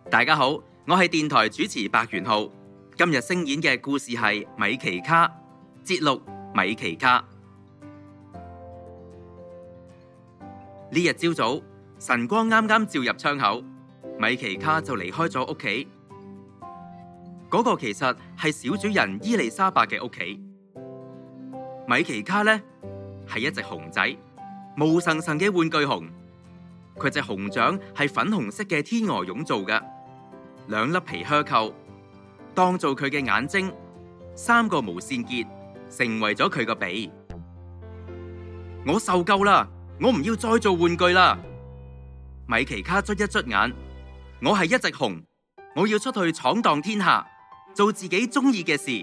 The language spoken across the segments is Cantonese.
大家好，我係電台主持白元浩。今日聲演嘅故事係米奇卡節錄米奇卡。呢日朝早，晨光啱啱照入窗口，米奇卡就離開咗屋企。嗰個其實係小主人伊麗莎白嘅屋企。米奇卡呢係一隻熊仔，毛神神嘅玩具熊。佢隻熊掌係粉紅色嘅天鵝絨做嘅，2粒皮靴扣當做佢嘅眼睛，3個毛線結成為咗佢個鼻。我受夠啦，我唔要再做玩具啦。米奇卡捽一捽眼，我係一隻熊，我要出去闖蕩天下，做自己中意嘅事。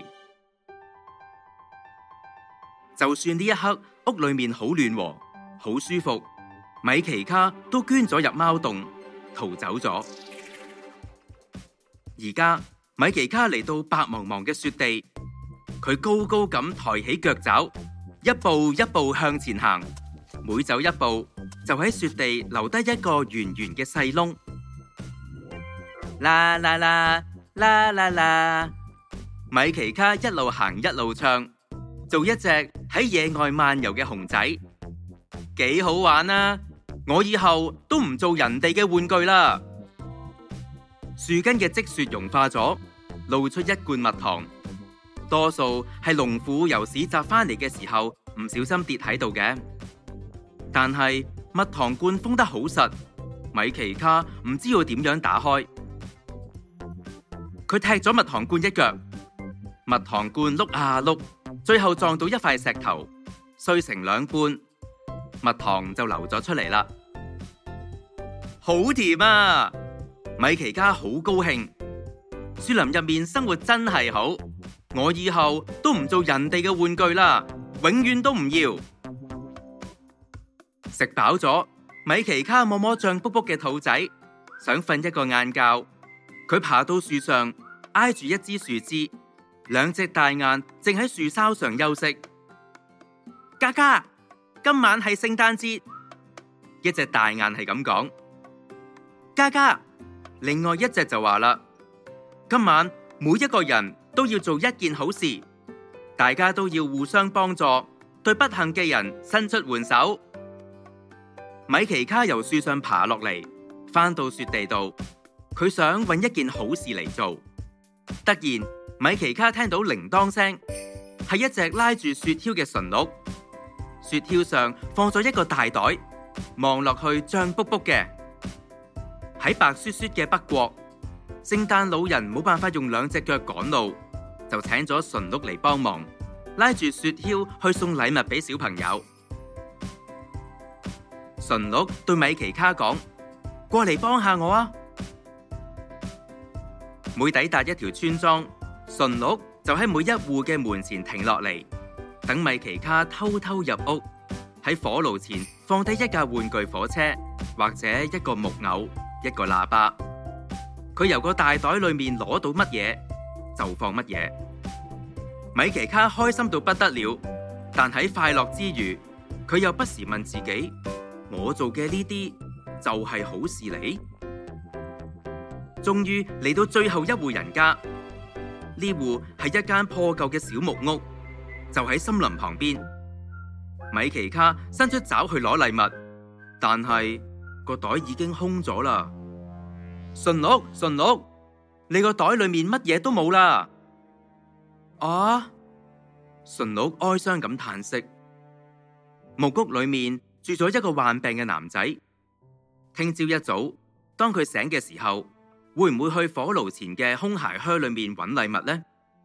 就算呢一刻屋裏面好暖和，好舒服，米奇卡都捐咗入貓洞，逃走咗。而家米奇卡嚟到白茫茫嘅雪地，佢高高咁抬起腳爪，一步一步向前行，每走一步就喺雪地留低一個圓圓嘅細窿。啦啦啦啦啦啦，米奇卡一路行一路唱，做一隻喺野外漫遊嘅熊仔，幾好玩啊！我以後都唔做人哋嘅玩具啦。樹根嘅積雪融化咗，露出一罐蜜糖，多數係農婦由市集翻嚟嘅時候唔小心跌喺度嘅。但係蜜糖罐封得好實，米奇卡唔知要點樣打開。佢踢咗蜜糖罐一腳，蜜糖罐碌啊碌，最後撞到一塊石頭，碎成2半，蜜糖就流咗出嚟啦。好甜啊！米奇卡好高興，樹林入面生活真係好，我以後都唔做人哋嘅玩具啦，永遠都唔要。食飽咗，米奇卡摸摸脹卜卜嘅肚仔，想瞓一個晏覺。佢爬到樹上，挨住一支樹枝，2隻大雁正喺樹梢上休息。嘉嘉，今晚係聖誕節，一隻大雁係咁講。嘉嘉，另外一隻就話啦，今晚每一個人都要做一件好事，大家都要互相幫助，對不幸嘅人伸出援手。米奇卡由樹上爬落嚟，返到雪地度，佢想搵一件好事嚟做。突然，米奇卡聽到鈴鐺聲，係一隻拉住雪橇嘅馴鹿，雪橇上放咗一個大袋，望落去脹卜卜嘅。喺白雪雪嘅北國，聖誕老人冇辦法用2隻腳趕路，就請咗馴鹿嚟幫忙，拉住雪橇去送禮物俾小朋友。馴鹿對米奇卡講：過嚟幫下我啊！每抵達一條村莊，馴鹿就喺每一戶嘅門前停落嚟，等米奇卡偷偷入屋，喺火爐前放低一架玩具火車，或者一個木偶，一個喇叭。佢由個大袋裏面攞到乜嘢就放乜嘢。米奇卡開心到不得了，但喺快樂之餘，佢又不時問自己：我做嘅呢啲就係好事嚟？終於嚟到最後一戶人家，呢戶係一間破舊嘅小木屋，就喺森林旁邊。米奇卡伸出爪去攞禮物，但係個袋已經空咗啦。馴鹿，馴鹿，你個袋裏面乜嘢都冇啦！啊！馴鹿哀傷咁嘆息。木屋裏面住咗一個患病嘅男仔。聽朝一早，當佢醒嘅時候，會唔會去火爐前嘅空鞋靴裏面揾禮物呢？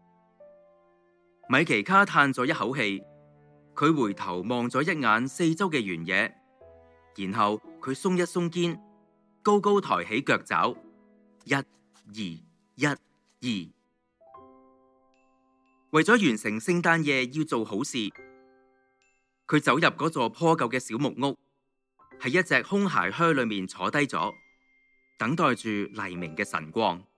米奇卡嘆咗一口氣，佢回頭望咗一眼四周嘅原野，然後佢鬆一鬆肩，高高抬起腳爪，1、2、1、2。為咗完成聖誕夜要做好事，佢走入嗰座破舊嘅小木屋，喺一隻空鞋靴裏面坐低咗，等待住黎明嘅晨光。